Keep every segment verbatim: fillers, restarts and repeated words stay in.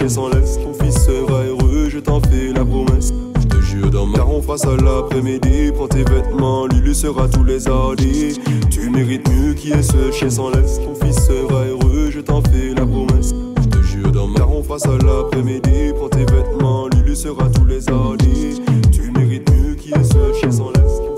chien s'en laisse. Ton fils sera heureux, je t'en fais la promesse. Je te jure dans ma... Car on fera ça l'après-midi. Prends tes vêtements, Lulu sera tous les hardis. Tu mérites mieux qui est ce chien s'en laisse. Ton fils sera heureux, je t'en fais la promesse. Je te jure dans ma... Car on fera ça l'après-midi. Prends tes vêtements, Lulu sera tous les hardis. Tu mérites mieux qui est ce chien s'en laisse.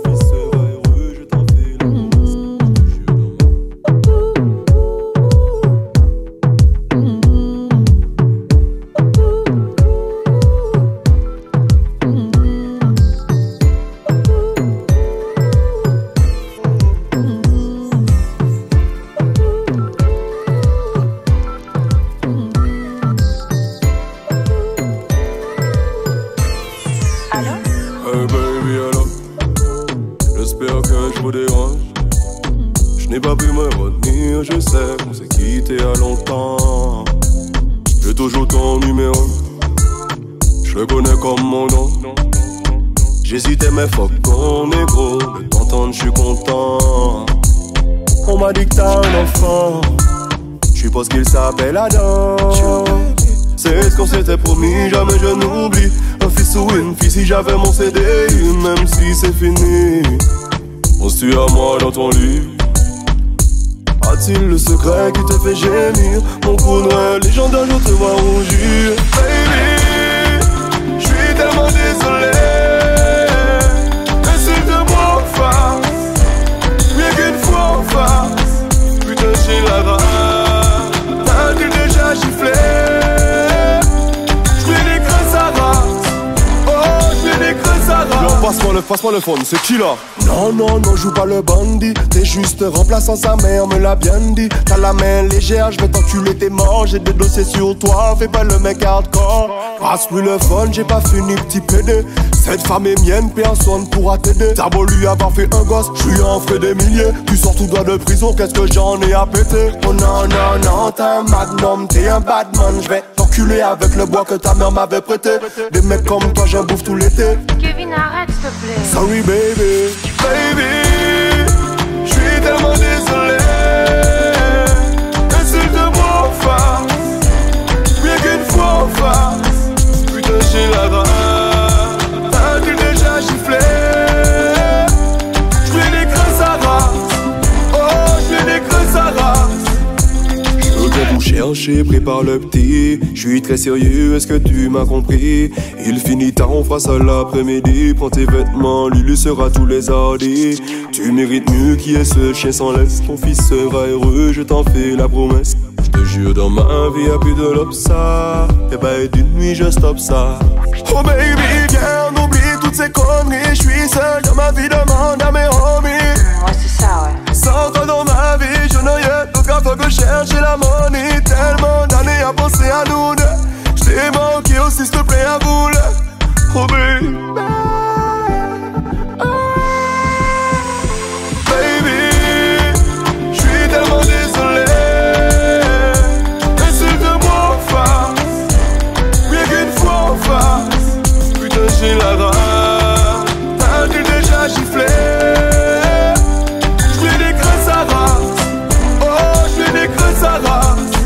J'hésitais mais fuck ton négro. De t'entendre je suis content. On m'a dit que t'as un enfant. Je suppose qu'il s'appelle Adam. C'est ce qu'on s'était promis, jamais je n'oublie. Un fils ou une fille si j'avais mon C D I. Même si c'est fini, penses-tu à moi dans ton lit? A-t-il le secret qui te fait gémir? Mon cousin légendaire, je te vois rougir. Baby, je suis tellement désolé. Insulte-moi en face, rien qu'une fois en face. Putain j'ai la rage, t'as-tu déjà giflé? J'fais des creux à race, oh j'fais des creux à race. Yo, passe-moi le, passe-moi le phone, c'est qui là? Non, non, non, joue pas le bandit. T'es juste remplaçant, sa mère me l'a bien dit. T'as la main légère, j'vais t'enculer, t'es mort. J'ai des dossiers sur toi, fais pas le mec hardcore. Passe-lui le phone, j'ai pas fini, petit pédé. Cette femme est mienne, personne pourra t'aider. T'as beau lui avoir fait un gosse, j'suis en frais des milliers. Tu sors tout droit de prison, qu'est-ce que j'en ai à péter? Oh non, non, non, t'es un magnum, t'es un badman. J'vais t'enculer avec le bois que ta mère m'avait prêté. Des mecs comme toi, j'en bouffe tout l'été. Kevin, arrête s'il te plaît. Sorry baby. Baby, je suis tellement désolé. Insulte-moi en face, rien qu'une fois en face. Putain j'ai la rage, t'as-tu déjà giflé? J'fais des creux à race, oh j'fais des creux à race. Je viens vous chercher, prépare le petit. Je suis très sérieux, est-ce que tu m'as compris? Il finit tard, on fera ça l'après-midi. Prends tes vêtements, Lulu sera tous les hardis. Tu mérites mieux qui est ce chien sans laisse. Ton fils sera heureux, je t'en fais la promesse. Je te jure dans ma vie y'a plus de l'obsa. Et bah et d'une nuit je stoppe ça. Oh baby viens on oublie toutes ces conneries. Je suis seul dans ma vie, demande à mes homies. Ouais c'est ça ouais. Sans toi dans ma vie je n'ai rien. Donc à fois que je cherche la money. Tellement d'années à penser à nous deux. Je t'ai manqué aussi s'il te plaît à vous là. Oh baby. J'ai la rage, t'as-tu déjà giflé? J'fais des creux à race, oh j'fais des creux à race.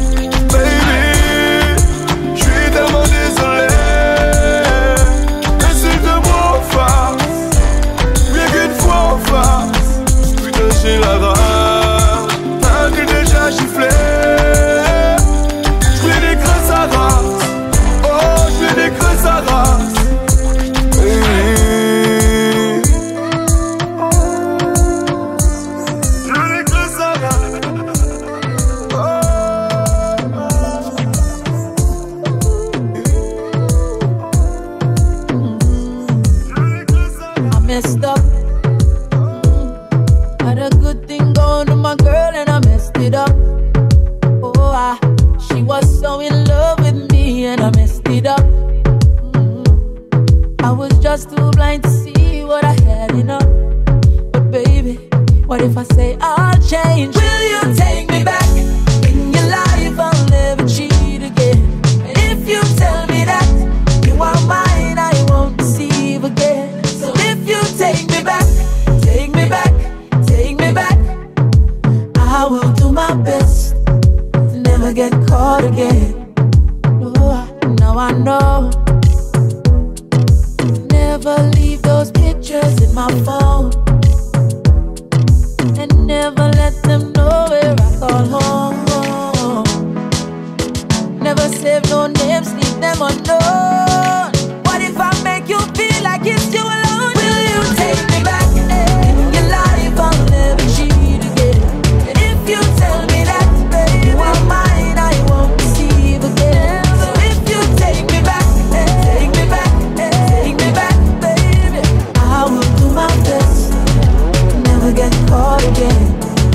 Baby, j'suis tellement désolé. Insulte-moi en face, rien qu'une fois en face. Putain j'ai la rage, t'as-tu déjà giflé? J'fais des creux à race, oh j'fais des creux à race. Messed up. Had a good thing going to my girl and I messed it up. Oh, I, she was so in love with me and I messed it up. Mm-hmm. I was just too blind to see what I had enough. But baby, what if I say I'll change? Will you take me back? In your life I'll never cheat again. And if you tell me that you are mine, I won't deceive again. You take me back, take me back, take me back. I will do my best to never get caught again. Oh, never leave those pictures in my phone, and never let them know where I call home. Never save no names, leave them unknown. What if I make you feel like it's you alone? Will you take me back in your life? I'll never cheat again. And if you tell me that, baby, you are mine, I won't deceive again. So if you take me back, take me back, take me back, baby, I will do my best, never get caught again.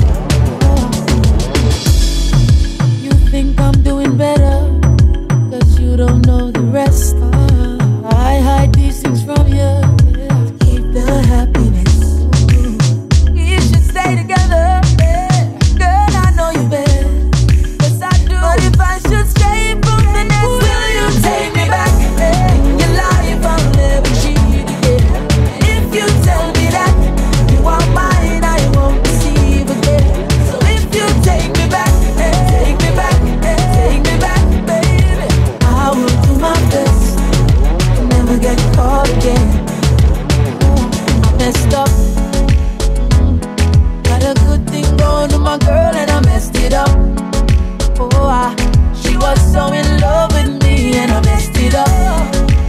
You think I'm doing better, cause you don't know the rest. I hide these things from you, keep the happiness. We should stay together, girl, I know you better. Yes, I do. But if I should stray from the nest, will you take me back in your life? I'll never cheat again. If you tell me that you are mine, I won't deceive again. So if you take me back, take me back, take me back, baby, I will do my best, never get caught again. I messed up, got a good thing going with my girl and I messed it up. Oh, I, she was so in love with me and I messed it up.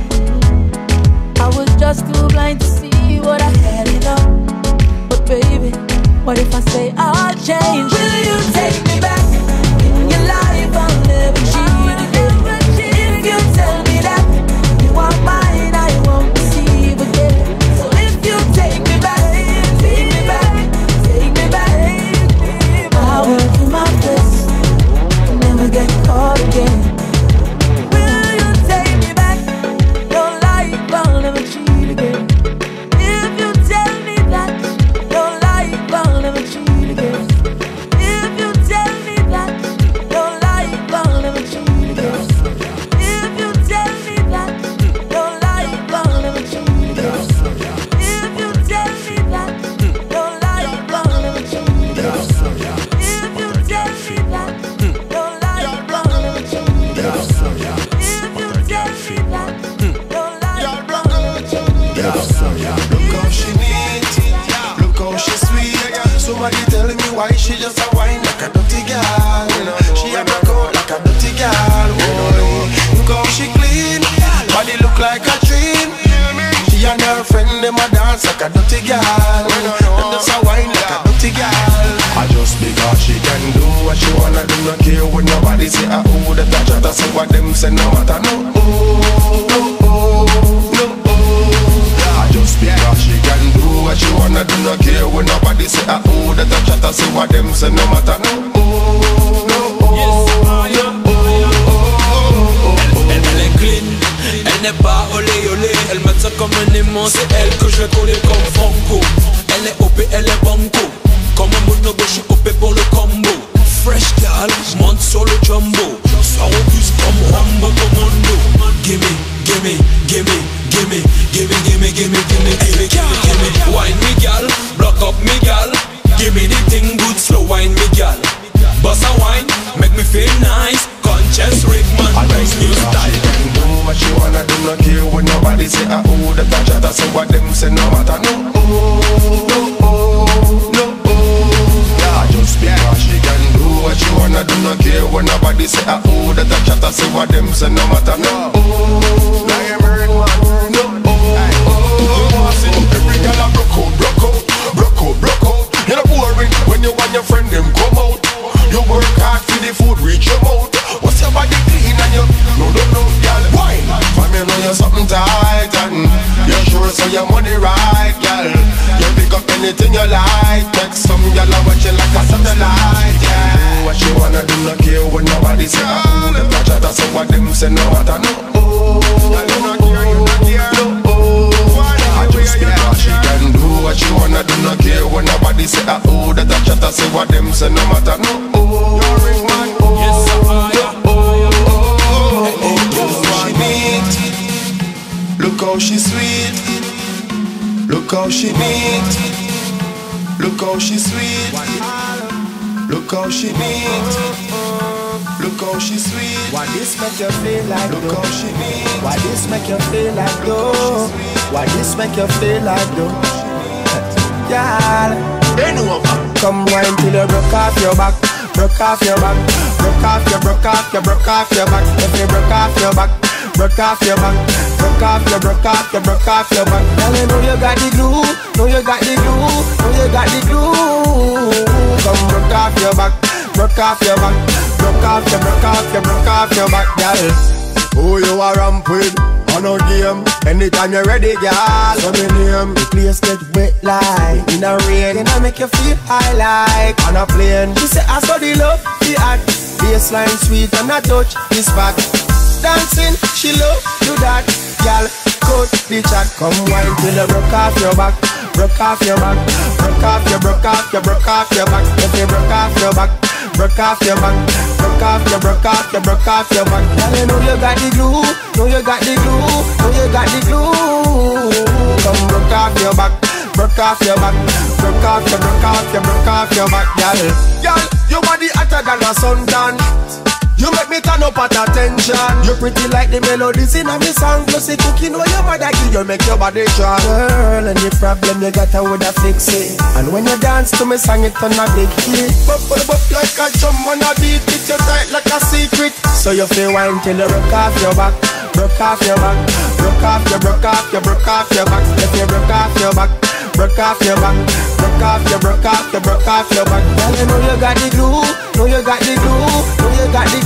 I was just too blind to see what I had enough. But baby, what if I say I'll change? Will you take me back in your life? I'll never cheat again. If you tell me that you are mine, I won't deceive again. So if you take me back, take me back, take me back, I will do my best, never get caught again. Will you take me back? Your life, I'll never cheat again. If you tell me that your life, I'll never cheat again. If you tell me that your life, I'll never cheat again. If you tell me that your life, I'll never cheat again. If you tell me that your life, I'll never cheat again. If you tell me that your life, I'll never cheat again. If you tell me that your life, I'll never cheat again. Look how she neat, look how she sweet. Somebody telling me why she just a whine like a dirty girl. She a broke out like a dirty girl. Boy, look how she clean, body look like a dream. She and her friend them a dance like a dirty girl, and just a whine like a dirty girl. I just because she can do what she wanna do, not care when nobody say ah oh that I try to say what them say no matter no oh no oh no oh. I just because she can do what she wanna do, not care when nobody say ah oh that I try to say what them say no matter no oh no oh no oh. Elle, elle est clean, elle n'est pas olé olé. Elle met ça comme un aimant, c'est elle que je vais coller comme Franco. Elle est O P, elle est banco. Comme un bonobo, je suis O P pour le combo. Fresh gal, monte sur le jumbo. Soir au bus comme Rambo Commando. Gimme, gimme, gimme, gimme, gimme, gimme, gimme, gimme, gimme, gimme, gimme. Wine me gal, block up me gal. Gimme the thing good, slow wine me gal. Bossa wine, make me feel nice. Conscious Rickman, I nice just new because she style. can do what she wanna do, not care when nobody say ah oh that I try to say what them say no matter no oh no oh no oh. I just because she can do what she wanna do, not care when nobody say ah oh that I try to say what them say no matter no oh no no oh. Every girl a broke out, broke out, broke out, broke out. You know boring when you and your friend them come out. You work hard for the food reach your mouth. What's your body clean and you no no no girl wine. From you know you're something tight and you're sure so your money right, girl. You pick up anything you like. Text some girl and watch you like a satellite, yeah. Do what you wanna do, not care when nobody say ah oh. Them not try to say what them say no matter no oh. And you not care, you not care no oh. I just because she can do what she wanna do, not care when nobody say ah oh that I try to say what them say no matter no oh. Yes, I Look how she sweet, look how she neat, look how she sweet, look how she neat, look how she sweet. Why this make you feel like look though? how she neat. Why this make you feel like though? Why this make you feel like though? Girl, they know about. Come wine till you broke off your back, broke off your back, broke off your, broke off your, broke off your back. If you broke off your back, broke off your back, broke off your, broke off your, broke off your back. Girl, you know you got the glue, know you got the glue, know you got the glue. Come broke off your back, broke off your back, broke off your, broke off your, broke off your back, girl. Who you are ramp with? On a game, anytime you're ready, girl. So me name, the place get wet like in a rain, and I make you feel high like on a plane. She say I saw the love, the act, baseline sweet and I touch this back. Dancing, she love do that, girl. Cut the chat, come wine till you broke off your back, broke off your back, broke off your, broke off your, broke off your back. If you broke off your back, broke off your back, broke off your, broke off your, broke off your back. Girl, you know you got the glue, know you got the glue, know you got the glue. Come broke off your back, broke off your back, broke off your, broke off your, broke off your back, girl. Girl, your body hotter than a suntan. You make me turn up at attention. You pretty like the melodies in a me song. Plus the cooking where your mother give you make your body strong. Girl, any problem you got I woulda fix it. And when you dance to me song it on a big hit. Bop bop bop like a drum on a beat. It you tight like a secret. So you feel wine till you broke off your back, broke off your back, broke off your, broke off your, broke off your back. If you broke off your back, broke off your back, broke off your, broke off your, broke off your back. Girl, you know you got the glue, know you got the glue, know you got the glue.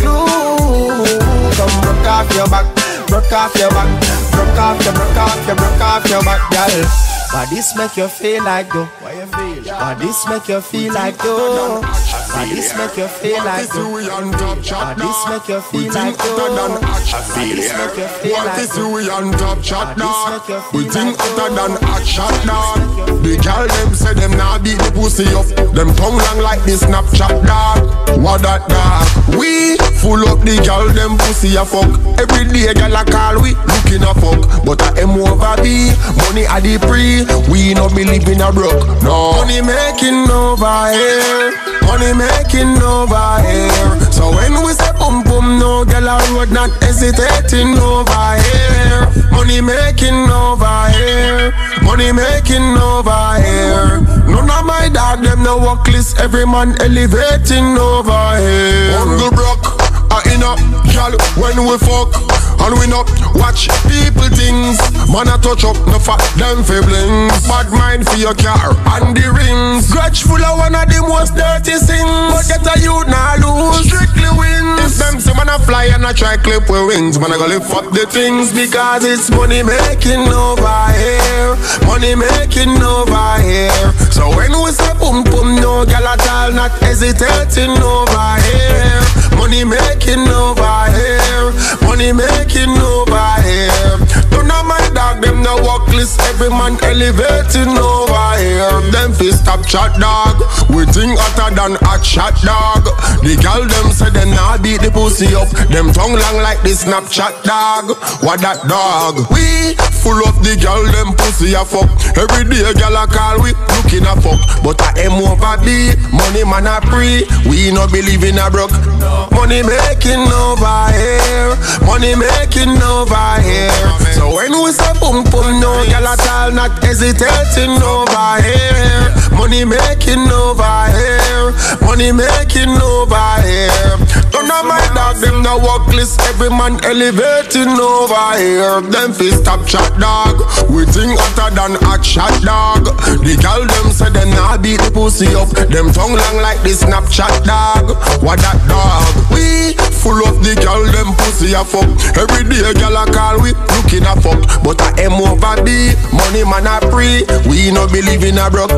Come broke off your back, broke off your back, broke off your, broke off your, broke off your back, girl. Why this make you feel like though? Why you feel? Why this make you feel like though? Why this make you feel like though? Why this make you feel like though? Why this make you feel like though? What is we on top chat dog? We think hotter than hot shot dog. The girl them say them nah beat the pussy up. Them tongue long like the Snapchat dog. What that dog? We full up the girl them pussy a fuck. Every day girl a call we looking a fuck. But I am over B, money a the pre. We no believe in a broke. No money making over here, money making over here. So when we say boom boom, no girl a road not hesitating over here. Money making over here, money making over here. None of my dog them no walk list. Every man elevating over here. Uncle broke, I in a girl when we fuck. And we not watch people things. Man a touch up, no fat them fi blings. Bad mind for your car and the rings. Grudge full of one of the most dirty things. But get a youth nah lose, strictly wins. If them say man a fly and a try clip with wings, man a go lift up the things. Because it's money making over here, money making over here. So when we say boom boom, no gal at all not hesitating over here. Money making over here, money making over here. None of my dog them no walk list. Every man elevating over here. Them fi stop chat dog. We think hotter than hot shot dog. The girl them say them nah beat the pussy up. Them tongue long like the Snapchat dog. What that dog? We full up the girl them pussy a fuck. Every day girl a call we looking a fuck. But I am over B, money man a pre. We no believe in a broke. Money making over here, money making over here. So when we say boom boom, no girl at all not hesitating over here. Money making over here, money making over here. None of my dog them no walk list. Every man elevating over here. Them fi stop chat dog. We think hotter than hot shot dog. The girl them say them nah beat the pussy up. Them tongue long like the Snapchat dog. What that dog? We full up the girl them pussy a fuck. Every day girl a call we looking a fuck. But I am over B, money man a pre. We no believe in a broke.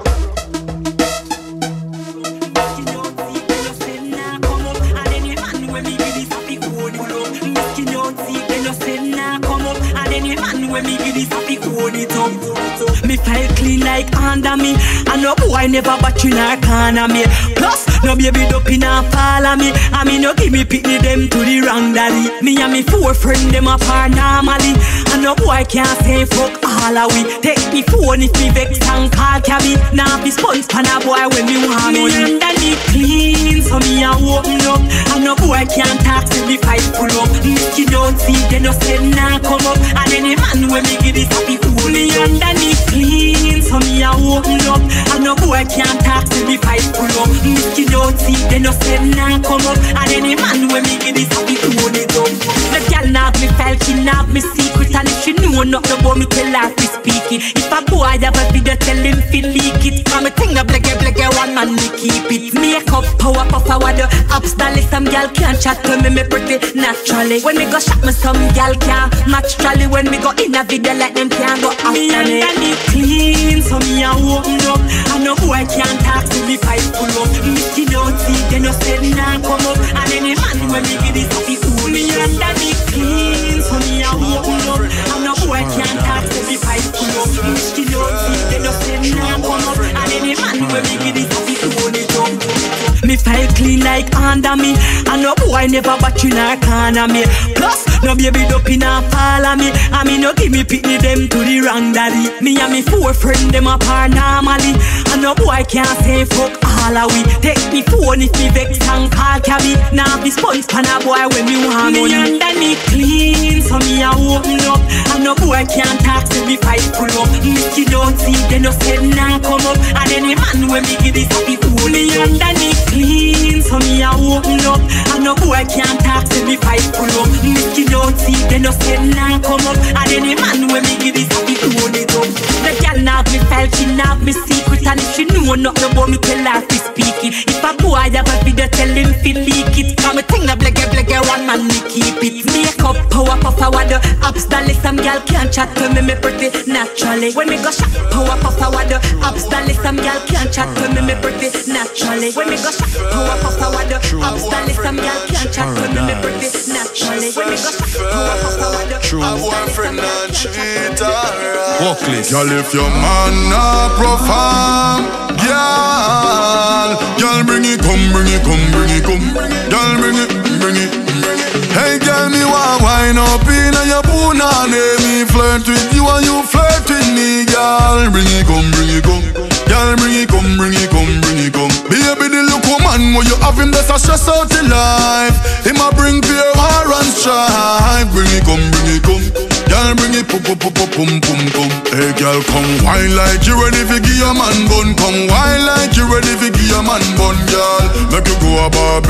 Me file clean like under me. And no boy never batch in a corner me. Plus, no baby dope in a follow me. I mean no give me pickney them to the wrong daddy. Me and me four friend them apart normally. And no boy can't say fuck all of we. Take me phone if me vex and call cabby. Now be sponge pan a boy when me want me underneath clean. So me a open up. And no boy can't talk till me fight full up. If you don't see then no say nah come up. And any man when me give this happy food. Me underneath clean, so me a open up. And no boy can't talk to me fight pull up. Me skin out see, they no say nah come up. And any man when me give this happy to hold it up. The girl knock me file, she knock me secret. And if she know nothing about me, tell her to speak it. If a boy have a video, tell him to leak it. Come me thing a blege blege, one man me keep it. Make up, power, puff, forward the ups, dolly. Some girl can't chat to me, me pretty naturally. When me go shop me, some girl can't match trolley. When me go in a video, like them can't go after me. Me underneath clean, so me a open up. And no boy can't talk to me fight pull up. Me skin out see, they no say nah come up. And any man when me give this happy fool. Me underneath clean, so me a open up. And no boy can't talk to me fight pull up. Me skin out see, they no say nah come up. And any man when me give this happy fool, it up. Me file clean like under me. And no boy never batch in a corner me. Plus, no baby dope in a follow me. And me no give me pitney them to the wrong daddy. Me and me four friend them apart normally. And no boy can't say fuck all of we. Take me phone if me vex and call cabby. Now be sponge pan a boy when me want money. Me underneath clean, so me a open up. And no boy can't talk to me fight pull up. Me skin don't see, they no say nah come up. And any man when me give this happy fool. Me underneath clean, so me a open up. And no boy can't talk to me fight pull up. Me skin don't see, they no say nah come up. And any man when me give this happy fool, it up. The girl knock me file, she knock me secret. And if she know nothing about me, tell her to speak it. If a boy have a video, tell him to leak it. Come me thing a blege blege, one man me keep it. Make up, power, puff, forward the ups, dolly. Some girl can't chat to me, me pretty naturally. When me go shop, power, puff, forward the ups, dolly. Some girl can't chat to me, me pretty naturally. When me go shop, power, puff, forward the ups, dolly. Some girl can't chat to me, me pretty naturally. When me go shop, power, puff, forward the ups, dolly. Boyfriend and cheat, alright. Walk list. Girl, if your man not perform, girl, girl, bring it, come, bring it, come, bring it, come. Girl, bring it, bring it, bring it. Hey, girl, me want wine up in your punani. Me flirt with you and you flirt with me, girl. Bring it, come, bring it, come. Girl, bring it, come, bring it, come, bring it, come. Baby, the look woman, when you have him, that's a stress out in life. Him a bring pure war and strife. Bring it, come, bring it, come. Girl, bring it, pum, pum, pum, pum, pum, pum. Hey, girl, come wine like you ready for give your man bun. Come wine like you ready for give your man bun, girl. Make you go a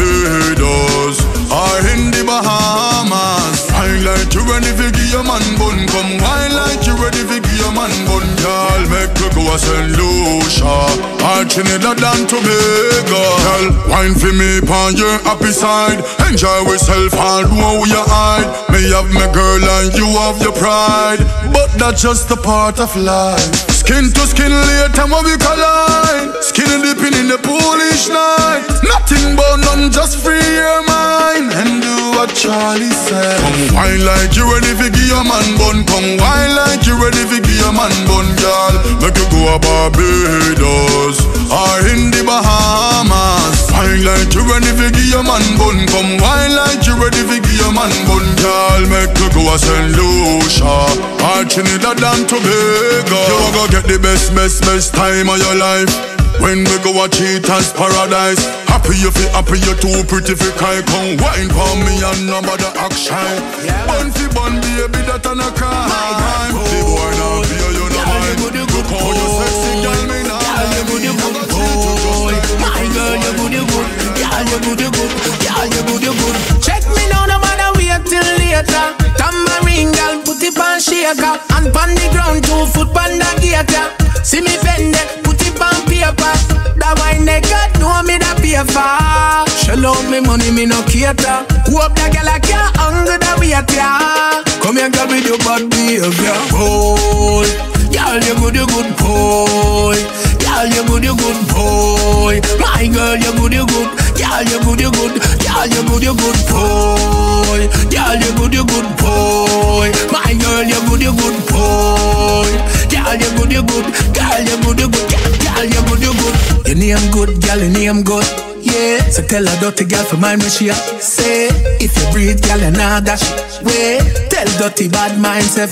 Barbados or in the Bahamas. Wine like you ready for give your man bun. Come wine like you ready for give your man bun, girl. Make you go a Saint Lucia or Trinidad and Tobago. Girl, wine for me on your happy side. Enjoy yourself and do how you hide. Me have my girl and you have your pride, but that's just a part of life. Skin to skin later when we collide. Skin dipping in the poolish night. Nothing but none, just free your mind and do what Charlie said. Come wine like you ready for give your man bun. Come wine like you ready for give your man bun, girl. Make you go a Barbados or in the Bahamas. Wine like you ready for give your man bun. Come wine like you ready for give your man bun, girl. Make you go a Saint Lucia or Trinidad and Tobago. You go get the best, best, best time of your life when we go a cheaters paradise. Happy you feel happy, you too pretty for cry. Come wine for me and no bother action. Bun fi bun, baby, that and a crime. The boy now fear you no mind. Look how you sexy, girl, me now. Girl, you good, you good, boy. My girl, you good, you good. Girl, you good, you good. Girl, you good, you good. Check me now, no matter wait till later. Tambourine girl, put it on shaker. And pon the ground, two foot pon the gator. See me bend it, put it on paper. That wine they got, know me the paper. Shell out me money, me no cater. Hope that girl I can't hunger the waiter. Come here girl with your bad behavior. Boy, girl you good, you good boy. Girl you good, you good boy. My girl you good, you good. Girl you good, you good. Girl you good, you good boy. Girl you good, you good boy. My girl you good, you good boy. Girl you good, you good. Girl you good, you good. Girl you good, you good. Your name good, girl your name good. Yeah, so tell a dirty girl for mine when she a say. If you breathe, girl you nah dash way. Tell dirty bad mind self.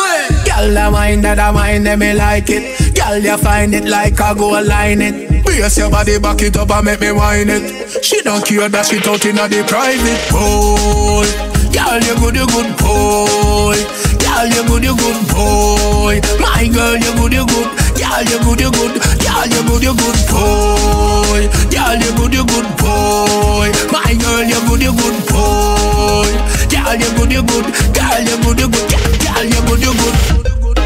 Girl a wine that a wine them me like it. Girl you find it like I go line it. Brace your body, back it up and make me whine it. She don't care that shit out inna the private. Boy, girl you good, you good boy. Girl, you good, you good boy. My girl, you good, you good. Girl, you good, you good. Girl, you good, you good boy. Girl, you good, you good boy. My girl, you good, you good boy. Girl, you good, you good. Girl, you good, you good. Girl, you good, you good.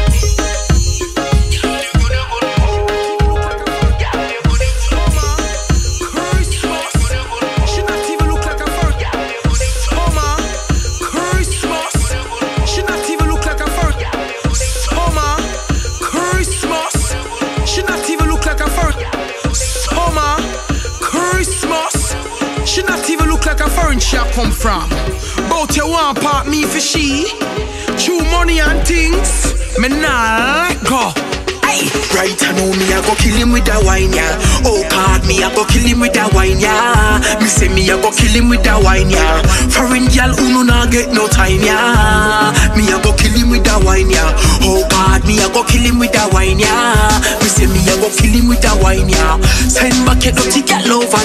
She come from, bout you want part me for she. True money and things, me nah let go. Hey. Right, I know me, I go kill him with that wine, yeah. Oh God, me, I go kill him with that wine, yeah. Me say me, I go kill him with that wine, yeah. Foreign girl, who no not get no time, yeah. Me, I go kill him with that wine, yeah. Oh God, me, I go kill him with that wine, yeah. Me say me, I go kill him with that wine, yeah. Send back a dirty girl over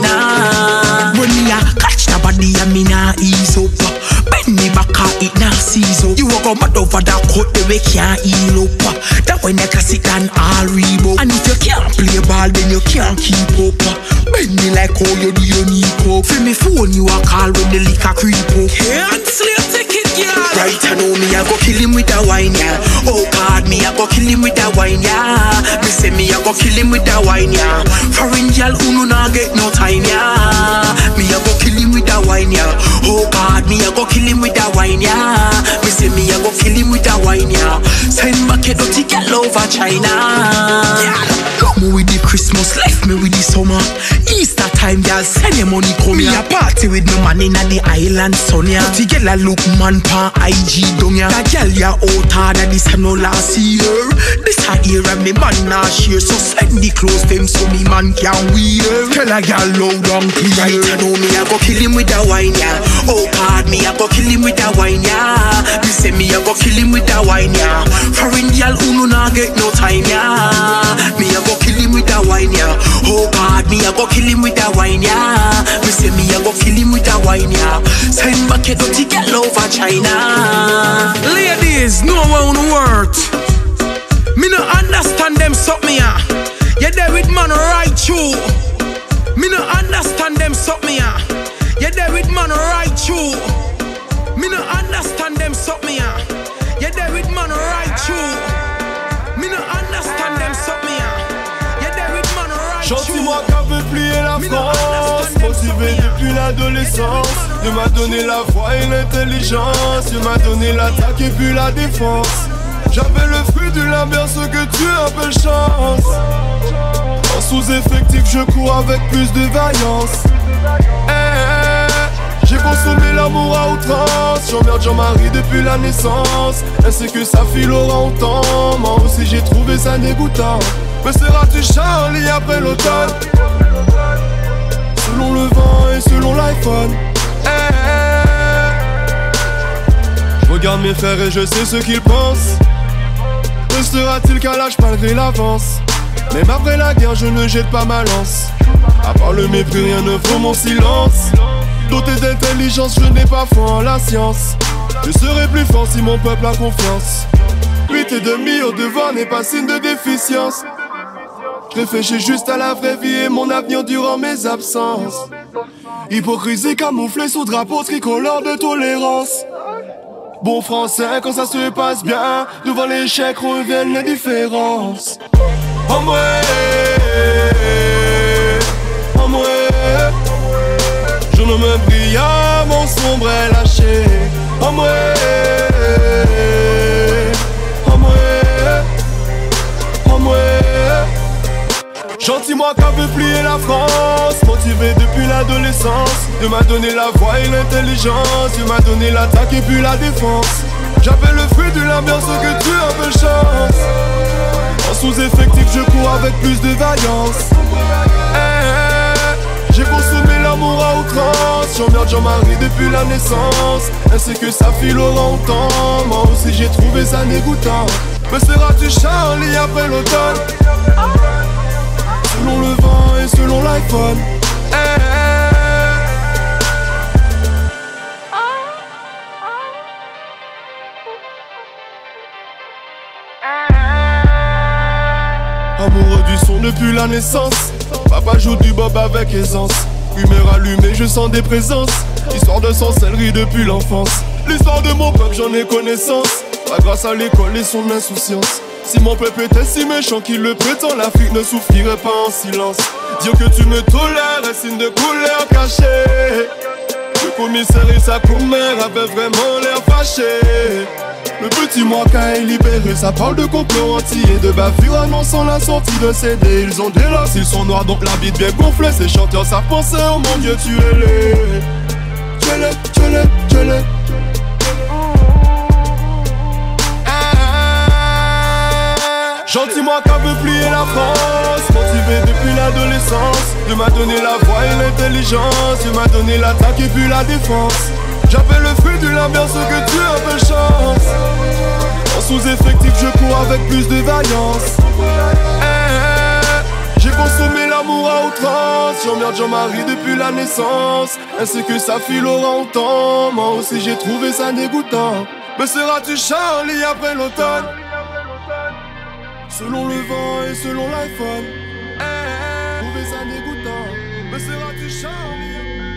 China. When me a catch the body, and me nah ease up. Bend me back, it nah seize up. You a go mad over that coat, the way can't heal up. That when you can sit and all Reebok. And if you can't play ball, then you can't keep up. Bend me like how you do your knee pop. Feel me phone you a call when the liquor creep up. Cancel your ticket, girl. Right, I know me, I go kill him with that wine, yeah. Oh God, me, I go kill him with that wine, yeah. Me say me, I go kill him with that wine, yeah. Foreign girl who no not get no time, yeah. Me, I go kill him with that wine, yeah. Oh God, me, I go kill him with that wine, yeah. Me say me, I go kill him with that wine, yeah. Send back a dirty girl over China. Yeah, love me with the Christmas, left me with the summer. Easter time, girl, send your money come here. Me a party with no man in the island, son, yeah. Dirty girl, I look man pa I G down, yeah. That girl, ya out harder this time no last year. This a year and me man not share. So send the clothes them so me man can wear. Tell a girl loud and clear. Right, I know me, I go kill him with that wine, yeah. Oh God, me, I go kill him with that wine, yeah. Me say me, I go kill him with that wine, yeah. Foreign girl who no not get no time, yeah. Me, I go kill him with that wine, yeah. Oh God, me, I go kill him with that wine, yeah. Me say me, I go kill him with that wine, yeah. Send back a dirty girl over China. Ladies, know how to work. Me no understand them suck me ah. You there with man right through. Me no understand them suck me ah. You there with man right through. Me no understand them suck me ah. You there with man right through. Me no understand them suck me ah. You there with man right through. Gentil-moi qu'un peu plier la France. Motivé depuis l'adolescence. Dieu m'a donné la foi et l'intelligence. Dieu m'a donné l'attaque et puis la défense. J'avais le fruit de l'ambiance que tu appelles chance. En sous-effectif je cours avec plus de vaillance. Hey, j'ai consommé l'amour à outrance. J'emmerde Jean-Marie depuis la naissance. Ainsi que sa fille Laura autant. Moi aussi j'ai trouvé ça dégoûtant. Me seras-tu Charlie après l'automne? Selon le vent et selon l'iPhone. Hey, je regarde mes frères et je sais ce qu'ils pensent. Ne sera-t-il qu'à l'âge malgré l'avance? Même après la guerre je ne jette pas ma lance. À part le mépris rien ne vaut mon silence. Doté d'intelligence je n'ai pas foi en la science. Je serai plus fort si mon peuple a confiance. Huit et demi au devant n'est pas signe de déficience. Je réfléchis juste à la vraie vie et mon avenir durant mes absences. Hypocrisie camouflée sous drapeau tricolore de tolérance. Bon français quand ça se passe bien. Devant l'échec reviennent les différences. En moi, en moi, je ne me brille à mon sombre est lâché. En moi, en moi, en moi. Gentil-moi qu'un peu plier la France. Motivé depuis l'adolescence. Dieu m'a donné la voix et l'intelligence. Dieu m'a donné l'attaque et puis la défense. J'avais le fruit de l'ambiance que tu appelles chance. En sous-effectif je cours avec plus de vaillance. Hey, j'ai consommé l'amour à outrance. J'emmerde Jean-Marie depuis la naissance. Ainsi que sa fille Laura autant. Moi aussi j'ai trouvé ça dégoûtant. Me seras-tu Charlie après l'automne? Selon le vent et selon l'iPhone. Hey, Amoureux du son depuis la naissance. Papa joue du bob avec aisance. Humeur allumée, je sens des présences. Histoire de sorcellerie depuis l'enfance. L'histoire de mon peuple, j'en ai connaissance. Pas grâce à l'école et son insouciance. Si mon peuple était si méchant qu'il le prétend, l'Afrique ne souffrirait pas en silence. Dire que tu me tolères est signe de couleur cachée. Le commissaire et sa commère avaient vraiment l'air fâchés. Le petit Mwaka est libéré, ça parle de complot entier et de bavure annonçant la sortie de C D. Ils ont des losses, ils sont noirs donc la bite bien gonflée. Ces chanteurs savent penser, oh mon Dieu tuez-les. Tuez-les, tuez-les, tuez-les. Gentil Mwaka veut plier la France, motivé depuis l'adolescence. Dieu m'a donné la voix et l'intelligence, Dieu m'a donné l'attaque et puis la défense. J'avais le fruit du labeur, ce que tu as de chance. En sous-effectif, je cours avec plus de vaillance. Eh, eh, j'ai consommé l'amour à outrance. J'emmerde Jean-Marie depuis la naissance, ainsi que sa fille Laurent autant. Moi aussi j'ai trouvé ça dégoûtant. Me seras-tu Charlie après l'automne? Selon le vent et selon l'iPhone, eh, eh, trouvé ça dégoûtant. Me seras-tu Charlie?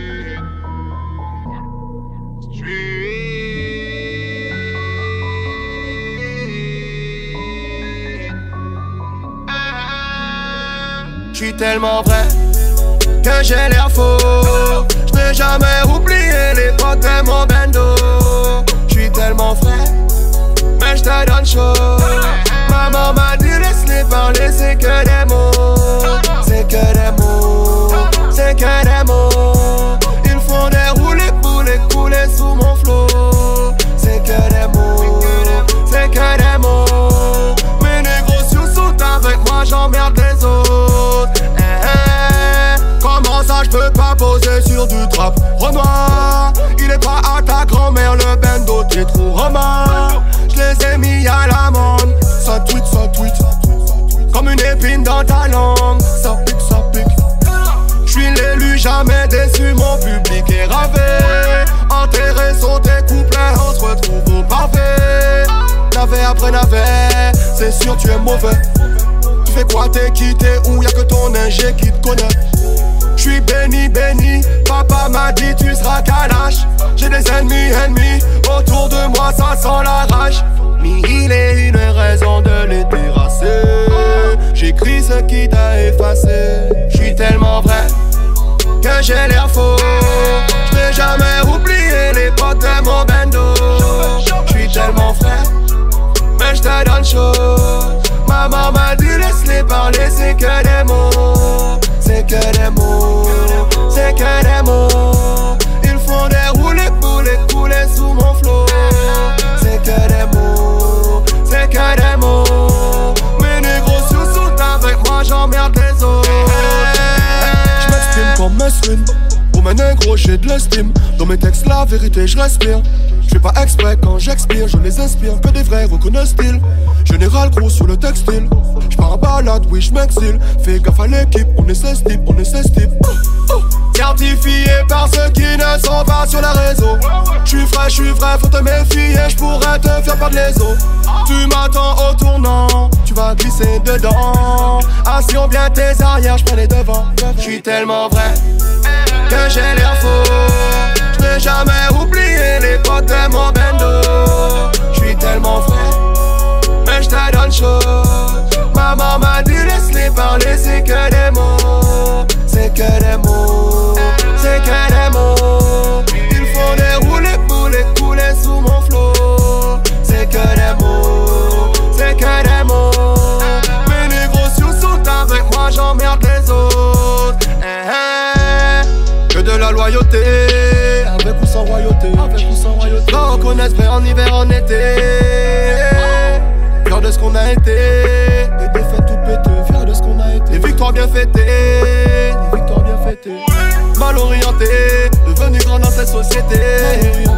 J'suis tellement vrai que j'ai l'air faux. J'n'ai jamais oublié l'époque de mon bendo. J'suis tellement vrai, mais j'te donne chaud. Maman m'a dit laisse-les parler, c'est que des mots. C'est que des mots, c'est que des mots. Ils font des roulés pour les couler sous mon flot. C'est que des mots, c'est que des mots. Mes négociations sont avec moi, j'emmerde les autres. Eh, eh, comment ça j'peux pas poser sur du trap? Renoir, il est pas à ta grand-mère, le bendo t'es trop romain. J'les ai mis à l'amende. Ça tweet, ça tweet, comme une épine dans ta langue. Ça pique, ça pique. J'suis l'élu, jamais déçu, mon public est ravé. Enterré sont tes couplets, on se retrouve au pavé. Navet après navet, c'est sûr tu es mauvais. Tu fais quoi, t'es quitté ou y'a que ton ingé qui te connaît? J'suis béni, béni, papa m'a dit tu seras calache. J'ai des ennemis, ennemis, autour de moi ça sent la rage. Mille et une raisons de les terrasser. J'écris ce qui t'a effacé. J'suis tellement vrai que j'ai l'air faux. J'n'ai jamais oublié l'époque de mon bendo. J'suis tellement frais, mais j'te donne chaud. Maman m'a dit laisse-les parler, c'est que des mots. C'est que des mots, c'est que des mots. Ils font des roulés pour les couler sous mon flot. C'est que des mots, c'est que des mots. Mes négociations sont avec moi, j'emmerde les autres. J'm'exprime comme Mesrine. Pour mes négros j'ai de l'estime. Dans mes textes la vérité je respire. Je fais pas exprès quand j'expire, je les inspire, que des vrais reconnaissent-ils. Général gros sur le textile. J'pars en balade, oui j'm'exile. Fais gaffe à l'équipe, on est seize types, on est seize types. Certifié par ceux qui ne sont pas sur les réseaux. J'suis frais, j'suis vrai, faut te méfier, j'pourrais te faire perdre les os. Tu m'attends au tournant, tu vas glisser dedans. Assure bien tes arrières, j'prends les devants. J'suis tellement vrai que j'ai l'air faux. J'n'ai jamais oublié l'époque de mon bendo. J'suis tellement vrai, mais j'te donne chaud. Maman m'a dit laisse-les parler, c'est que des mots. C'est que des mots, c'est que des mots. Ils font des roulés pour les couler sous mon flot. C'est que des mots, c'est que des mots. Mes négociations sont avec moi, j'emmerde les autres. Eh, eh. Que de la loyauté, avec ou sans royauté, avec ou sans royauté. Quand on connaisse vrai en hiver, en été. Fier de ce qu'on a été, des défaites toutes pétées. Fier de ce qu'on a été, des victoires bien fêtées, des victoires bien fêtées. Mal orienté, devenu grand dans cette société.